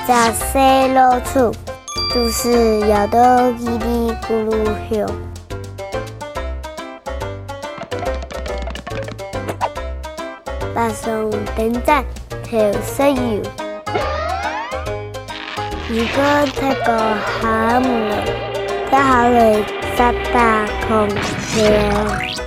在西路处，就是摇到叽里咕噜响。搭上电站，头石油。如果太过寒了，再考虑3大空调。